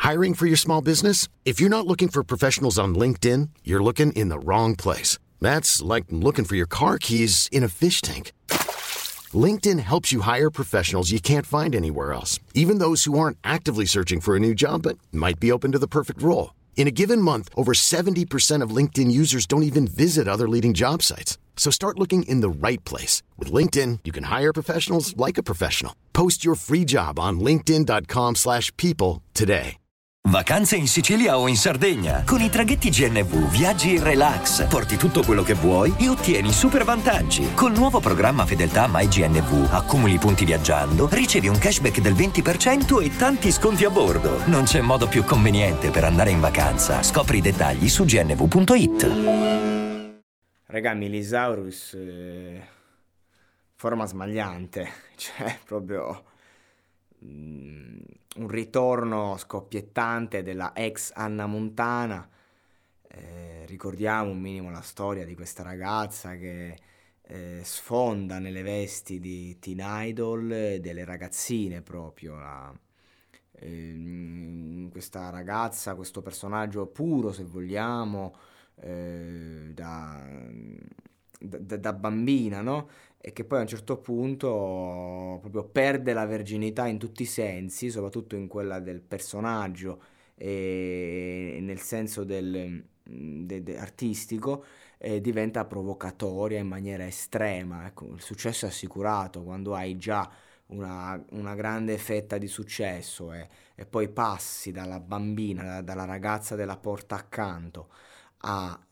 Hiring for your small business? If you're not looking for professionals on LinkedIn, you're looking in the wrong place. That's like looking for your car keys in a fish tank. LinkedIn helps you hire professionals you can't find anywhere else, even those who aren't actively searching for a new job but might be open to the perfect role. In a given month, over 70% of LinkedIn users don't even visit other leading job sites. So start looking in the right place. With LinkedIn, you can hire professionals like a professional. Post your free job on linkedin.com/people today. Vacanze in Sicilia o in Sardegna. Con i traghetti GNV viaggi in relax, porti tutto quello che vuoi e ottieni super vantaggi. Col nuovo programma Fedeltà MyGNV accumuli punti viaggiando, ricevi un cashback del 20% e tanti sconti a bordo. Non c'è modo più conveniente per andare in vacanza. Scopri i dettagli su gnv.it. Raga, Milisaurus, forma smagliante, cioè proprio un ritorno scoppiettante della ex Anna Montana. Ricordiamo un minimo la storia di questa ragazza che sfonda nelle vesti di teen idol, delle ragazzine proprio. Questa ragazza, questo personaggio puro, se vogliamo, da bambina, no? E che poi a un certo punto proprio perde la verginità in tutti i sensi, soprattutto in quella del personaggio e nel senso artistico, diventa provocatoria in maniera estrema. Ecco, il successo è assicurato quando hai già una grande fetta di successo e poi passi dalla bambina, dalla ragazza della porta accanto ad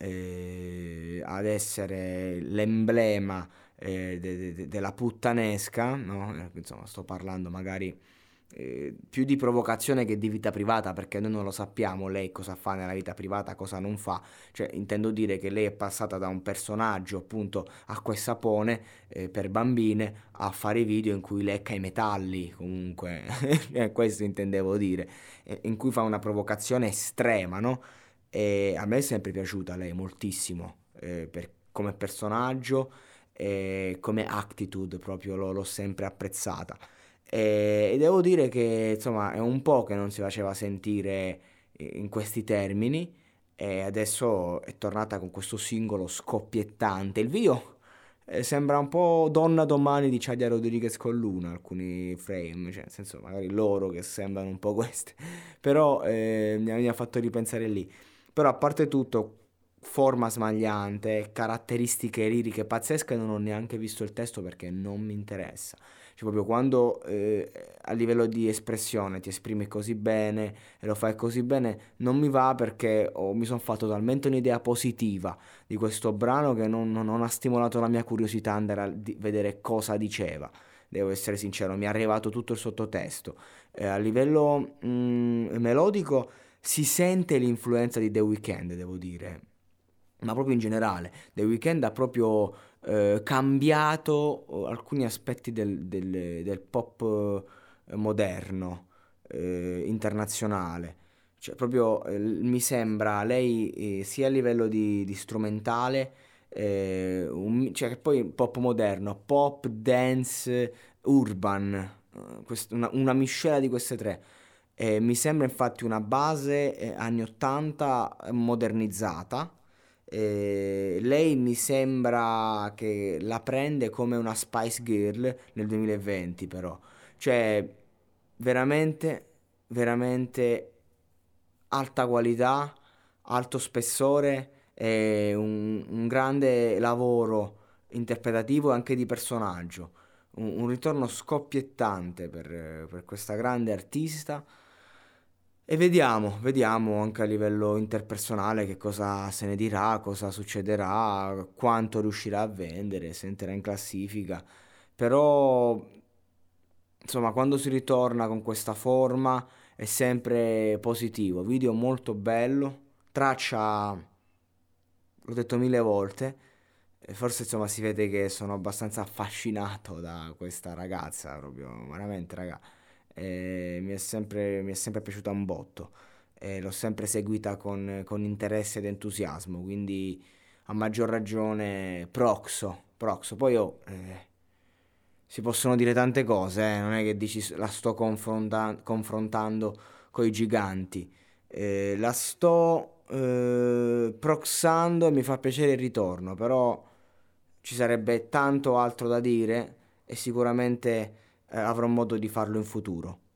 essere l'emblema della puttanesca, no? Insomma, sto parlando magari più di provocazione che di vita privata, perché noi non lo sappiamo lei cosa fa nella vita privata, cosa non fa. Cioè, intendo dire che lei è passata da un personaggio, appunto, acqua e sapone per bambine, a fare video in cui lecca i metalli, comunque, questo intendevo dire, in cui fa una provocazione estrema, no? E a me è sempre piaciuta lei moltissimo, come personaggio, come attitude proprio l'ho sempre apprezzata. E devo dire che insomma è un po' che non si faceva sentire in questi termini, e adesso è tornata con questo singolo scoppiettante. Il video sembra un po' Donna Domani di Chadia Rodriguez con Luna, alcuni frame, cioè nel senso magari loro che sembrano un po' queste, però mi ha fatto ripensare lì. Però a parte tutto, forma smagliante, caratteristiche liriche pazzesche, non ho neanche visto il testo perché non mi interessa. Cioè proprio quando a livello di espressione ti esprimi così bene e lo fai così bene, non mi va perché mi sono fatto talmente un'idea positiva di questo brano che non ha stimolato la mia curiosità andare a vedere cosa diceva. Devo essere sincero, mi è arrivato tutto il sottotesto. A livello melodico si sente l'influenza di The Weeknd, devo dire, ma proprio in generale. The Weeknd ha proprio cambiato alcuni aspetti del pop moderno, internazionale. Cioè proprio mi sembra lei sia a livello di strumentale, cioè che poi pop moderno, pop, dance, urban, una miscela di queste tre. Mi sembra infatti una base anni 80 modernizzata. Lei mi sembra che la prende come una Spice Girl nel 2020, però. Cioè, veramente, veramente alta qualità, alto spessore e un grande lavoro interpretativo e anche di personaggio. Un ritorno scoppiettante per questa grande artista. E vediamo anche a livello interpersonale che cosa se ne dirà, cosa succederà, quanto riuscirà a vendere, se entrerà in classifica. Però, insomma, quando si ritorna con questa forma è sempre positivo. Video molto bello, traccia, l'ho detto 1000 volte, e forse insomma si vede che sono abbastanza affascinato da questa ragazza, proprio veramente, raga. Mi è sempre piaciuta un botto, l'ho sempre seguita con interesse ed entusiasmo, quindi a maggior ragione Proxo. Poi si possono dire tante cose, non è che dici la sto confrontando coi giganti. La sto proxando e mi fa piacere il ritorno, però ci sarebbe tanto altro da dire e sicuramente avrò modo di farlo in futuro.